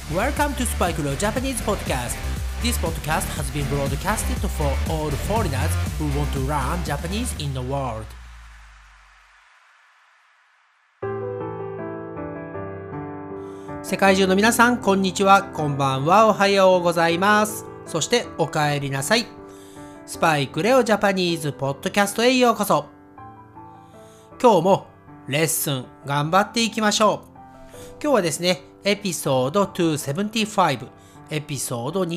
Welcome to Spike Leo Japanese Podcast. This podcast has been broadcasted for all foreigners who want to learn Japanese in the world. 世界中の皆さん、こんにちは、こんばんは、おはようございます。そしてお帰りなさい。スパイクレオジャパニーズポッドキャストへようこそ。今日もレッスン頑張っていきましょう。今日はですね、エピソード275、エピソード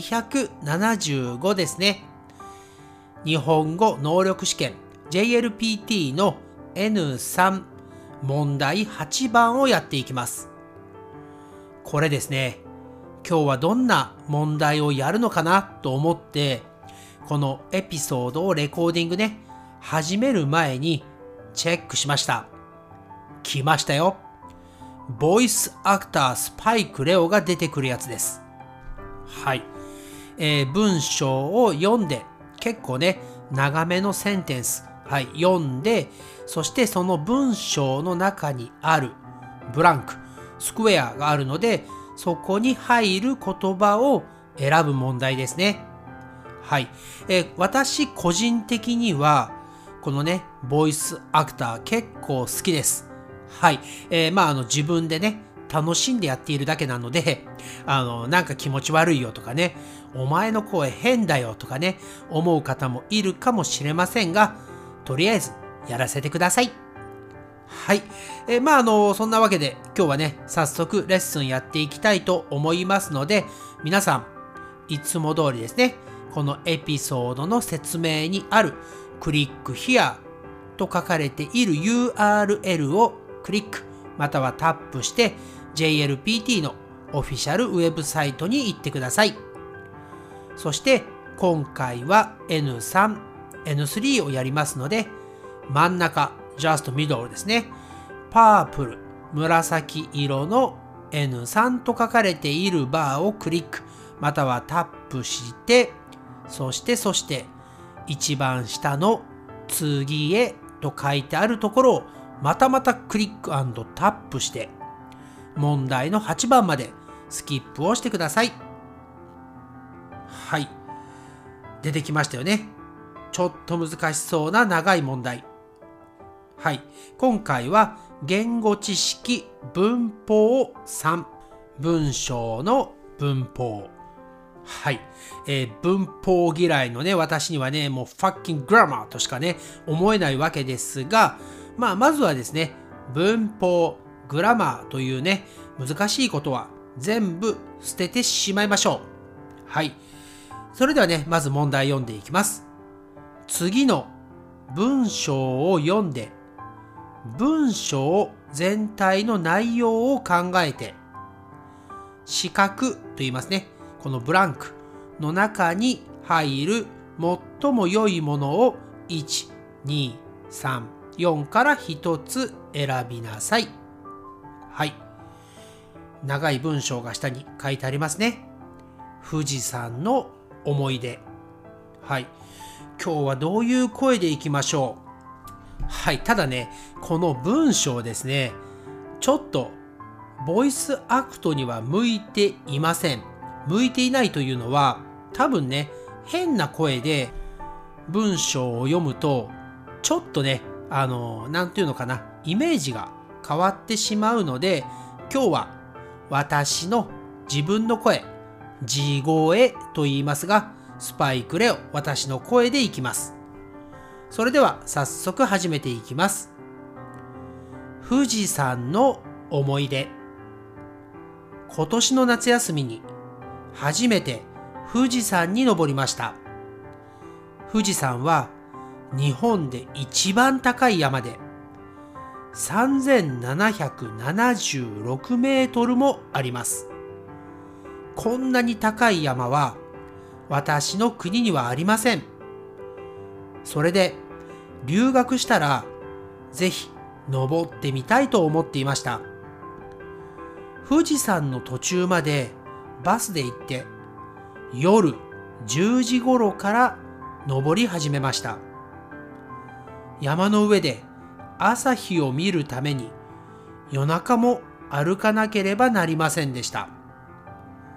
275ですね。日本語能力試験 JLPT の N3 問題8番をやっていきます。これですね、今日はどんな問題をやるのかなと思って、このエピソードをレコーディングね、始める前にチェックしました。来ましたよ。ボイスアクタースパイクレオが出てくるやつです。はい。文章を読んで、結構ね、長めのセンテンス、はい、読んで、そしてその文章の中にあるブランク、スクエアがあるので、そこに入る言葉を選ぶ問題ですね。はい。私個人的には、このね、ボイスアクター結構好きです。はい。自分でね、楽しんでやっているだけなので、なんか気持ち悪いよとかね、お前の声変だよとかね、思う方もいるかもしれませんが、とりあえずやらせてください。はい。そんなわけで今日はね、早速レッスンやっていきたいと思いますので、皆さん、いつも通りですね、このエピソードの説明にあるクリック Here と書かれている URL をクリックまたはタップして JLPT のオフィシャルウェブサイトに行ってください。そして今回は N3、N3 をやりますので、真ん中、just middle ですね。パープル、紫色の N3 と書かれているバーをクリックまたはタップして、そして一番下の次へと書いてあるところをまたクリック&タップして問題の8番までスキップをしてください。はい。出てきましたよね。ちょっと難しそうな長い問題。はい。今回は言語知識文法3、文章の文法。はい。文法嫌いのね、私にはね、もうファッキンググラマーとしかね、思えないわけですが、まずはですね、文法、グラマーというね、難しいことは全部捨ててしまいましょう。はい。それではね、まず問題読んでいきます。次の文章を読んで、文章全体の内容を考えて、四角と言いますね。このブランクの中に入る最も良いものを1、2、3、4から1つ選びなさい。はい。長い文章が下に書いてありますね。富士山の思い出。はい。今日はどういう声でいきましょう。はい。ただね、この文章ですね、ちょっとボイスアクトには向いていません。向いていないというのは、多分ね、変な声で文章を読むと、ちょっとね、なんていうのかな、イメージが変わってしまうので、今日は私の自分の声、地声と言いますが、スパイクレオ、私の声でいきます。それでは早速始めていきます。富士山の思い出。今年の夏休みに初めて富士山に登りました。富士山は日本で一番高い山で3776メートルもあります。こんなに高い山は私の国にはありません。それで留学したらぜひ登ってみたいと思っていました。富士山の途中までバスで行って夜10時頃から登り始めました。山の上で朝日を見るために夜中も歩かなければなりませんでした。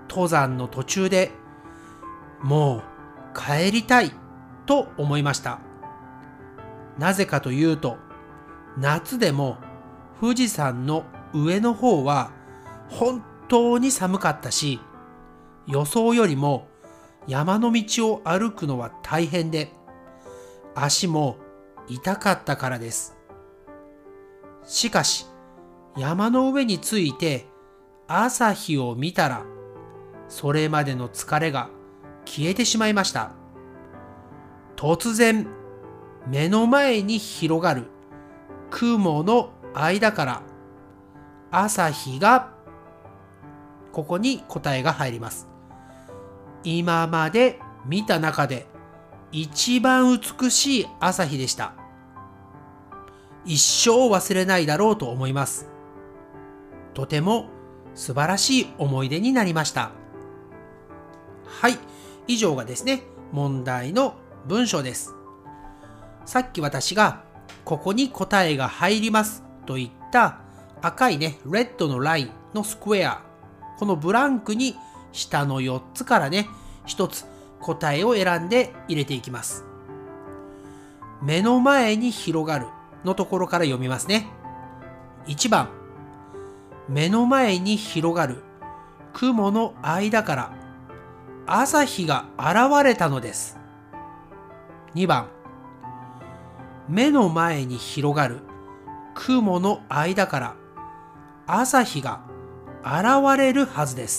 登山の途中でもう帰りたいと思いました。なぜかというと、夏でも富士山の上の方は本当に寒かったし、予想よりも山の道を歩くのは大変で、足も痛かったからです。しかし、山の上に着いて朝日を見たら、それまでの疲れが消えてしまいました。突然、目の前に広がる雲の間から朝日が、ここに答えが入ります。今まで見た中で一番美しい朝日でした。一生忘れないだろうと思います。とても素晴らしい思い出になりました。はい、以上がですね、問題の文章です。さっき私がここに答えが入りますと言った赤いね、レッドのラインのスクエア、このブランクに下の4つからね、1つ答えを選んで入れていきます。目の前に広がるのところから読みますね。1番、目の前に広がる雲の間から朝日が現れたのです。2番、目の前に広がる雲の間から朝日が現れるはずです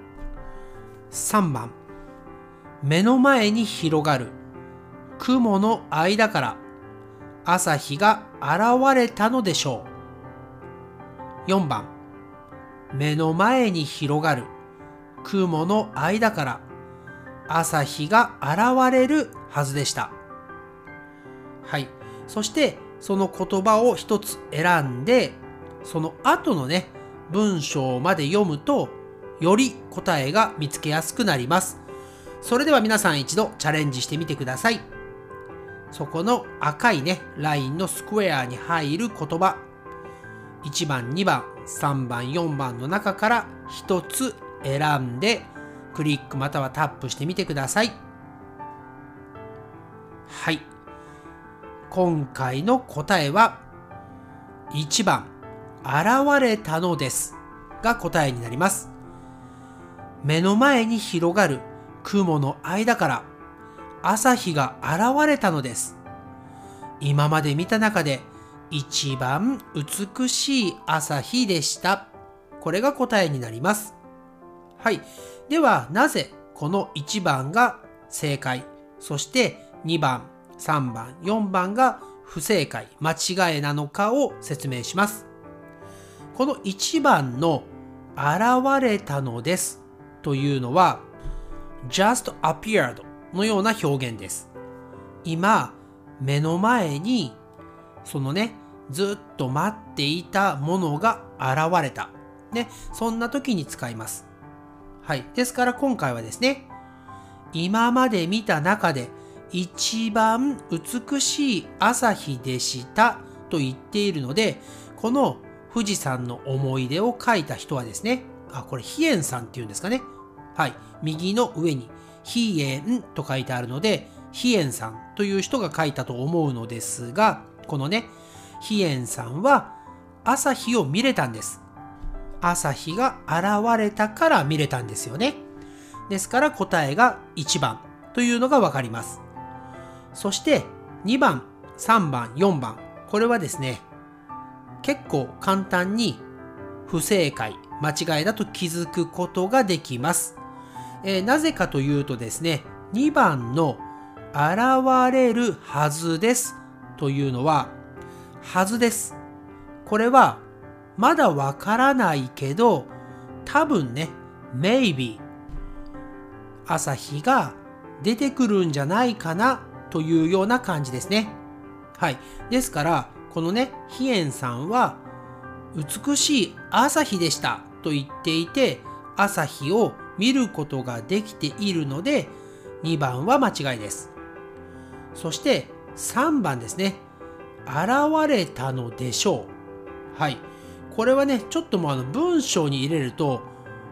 。3番、目の前に広がる雲の間から朝日が現れたのでしょう。4番、目の前に広がる雲の間から朝日が現れるはずでした。はい。そしてその言葉を一つ選んで、その後のね、文章まで読むとより答えが見つけやすくなります。それでは皆さん一度チャレンジしてみてください。そこの赤いね、ラインのスクエアに入る言葉、1番、2番、3番、4番の中から一つ選んでクリックまたはタップしてみてください。はい。今回の答えは1番、現れたのですが答えになります。目の前に広がる雲の間から朝日が現れたのです。今まで見た中で一番美しい朝日でした。これが答えになります。はい。では、なぜこの1番が正解、そして2番、3番、4番が不正解、間違いなのかを説明します。この1番の現れたのですというのは just appeared のような表現です。今、目の前にそのね、ずっと待っていたものが現れた。ね、そんな時に使います。はい。ですから今回はですね、今まで見た中で一番美しい朝日でしたと言っているので、この富士山の思い出を書いた人はですね、これ飛燕さんっていうんですかね。はい。右の上に飛燕と書いてあるので、飛燕さんという人が書いたと思うのですが、このね、飛燕さんは朝日を見れたんです。朝日が現れたから見れたんですよね。ですから答えが1番というのがわかります。そして2番、3番、4番。これはですね、結構簡単に不正解、間違いだと気づくことができます。なぜかというとですね、2番の現れるはずですというのは、はずです。これはまだわからないけど、多分ね、maybe 朝日が出てくるんじゃないかなというような感じですね。はい。ですから、このね、飛燕さんは美しい朝日でしたと言っていて、朝日を見ることができているので、2番は間違いです。そして3番ですね。現れたのでしょう。はい。これはね、ちょっともう文章に入れると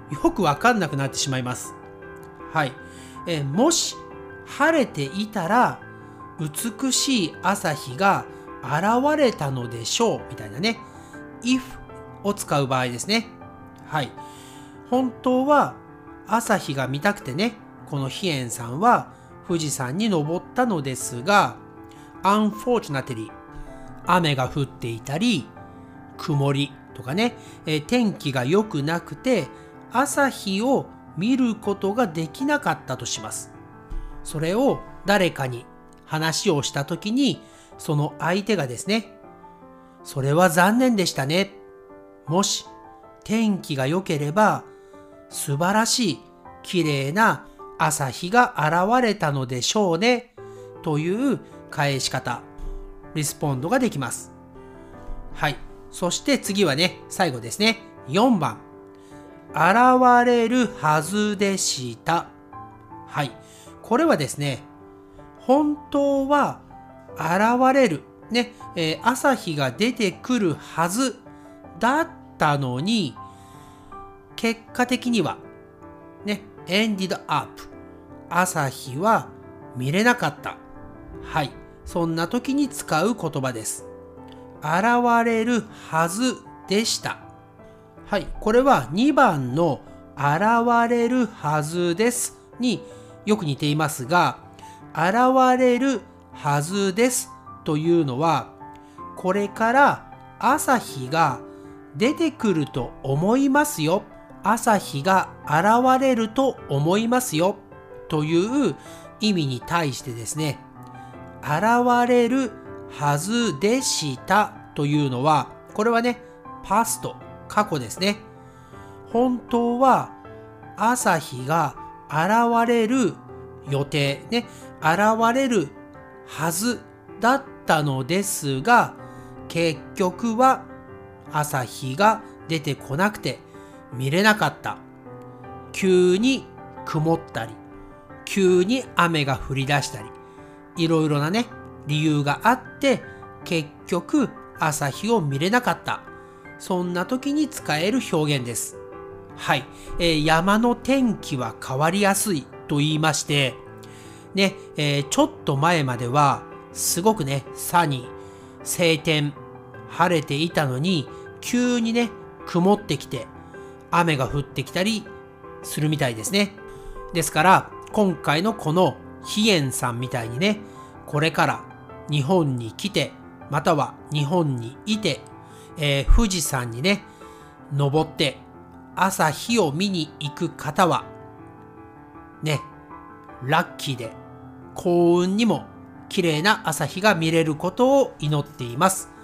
よくわかんなくなってしまいます。はい。もし晴れていたら美しい朝日が現れたのでしょうみたいなね。if を使う場合ですね。はい。本当は朝日が見たくてね、このヒエンさんは富士山に登ったのですが、unfortunately 雨が降っていたり、曇りとかね、天気が良くなくて朝日を見ることができなかったとします。それを誰かに話をしたときに、その相手がですね、それは残念でしたね。もし天気が良ければ素晴らしい綺麗な朝日が現れたのでしょうね。という返し方、リスポンドができます。はい。そして次はね、最後ですね。4番。現れるはずでした。はい。これはですね、本当は現れる、ね、朝日が出てくるはずだったのに、結果的には、ね、ended up。朝日は見れなかった。はい。そんな時に使う言葉です。現れるはずでした。はい。これは2番の現れるはずですによく似ていますが、現れるはずですというのは、これから朝日が出てくると思いますよ。朝日が現れると思いますよという意味に対してですね、現れるはずでしたというのは、これはね、パスト、過去ですね。本当は朝日が現れる予定、ね、現れるはずだったのですが、結局は朝日が出てこなくて見れなかった。急に曇ったり、急に雨が降り出したり、いろいろなね、理由があって、結局朝日を見れなかった。そんな時に使える表現です。はい。山の天気は変わりやすいと言いまして、ね、ちょっと前までは、すごくね、サニー、晴天、晴れていたのに、急にね、曇ってきて、雨が降ってきたりするみたいですね。ですから、今回のこのヒエンさんみたいにね、これから日本に来て、または日本にいて、富士山にね、登って朝日を見に行く方は、ね、ラッキーで幸運にも綺麗な朝日が見れることを祈っています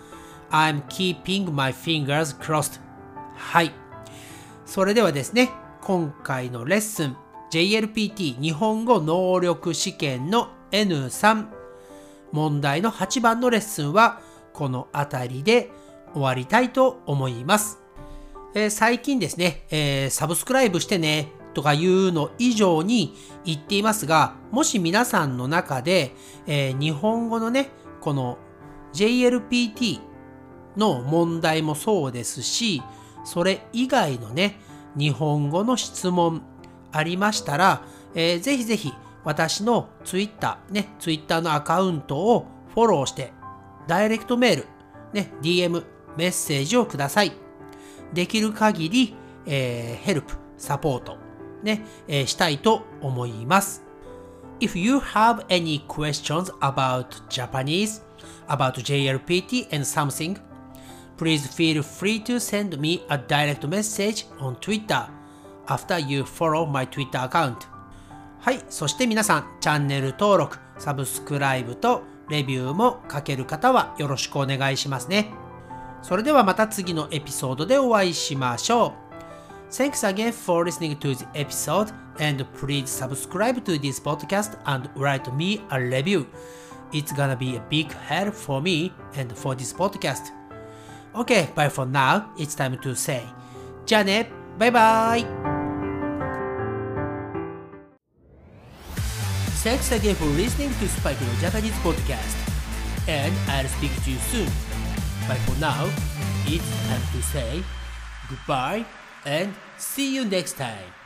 。I'm keeping my fingers crossed. はい。それではですね、今回のレッスン、JLPT 日本語能力試験の N3 問題の8番のレッスンはこのあたりで終わりたいと思います。最近ですね、サブスクライブしてねとかいうの以上に言っていますが、もし皆さんの中で、日本語のね、この JLPT の問題もそうですし、それ以外のね、日本語の質問ありましたら、ぜひぜひ私のTwitterのアカウントをフォローして、ダイレクトメール、ね、DM、メッセージをください。できる限り、ヘルプ、サポート、ね、したいと思います。If you have any questions about Japanese, about JLPT and something, please feel free to send me a direct message on Twitter after you follow my Twitter account. はい、そして皆さん、チャンネル登録、サブスクライブとレビューも書ける方はよろしくお願いしますね。それではまた次のエピソードでお会いしましょう。Thanks again for listening to the episode and please subscribe to this podcast and write me a review. It's gonna be a big help for me and for this podcast. Okay, bye for now. It's time to say. じゃあね、バイバイ。Thanks again for listening to Spikeの Japanese podcast. And I'll speak to you soon. But for now, it's time to say goodbye and see you next time.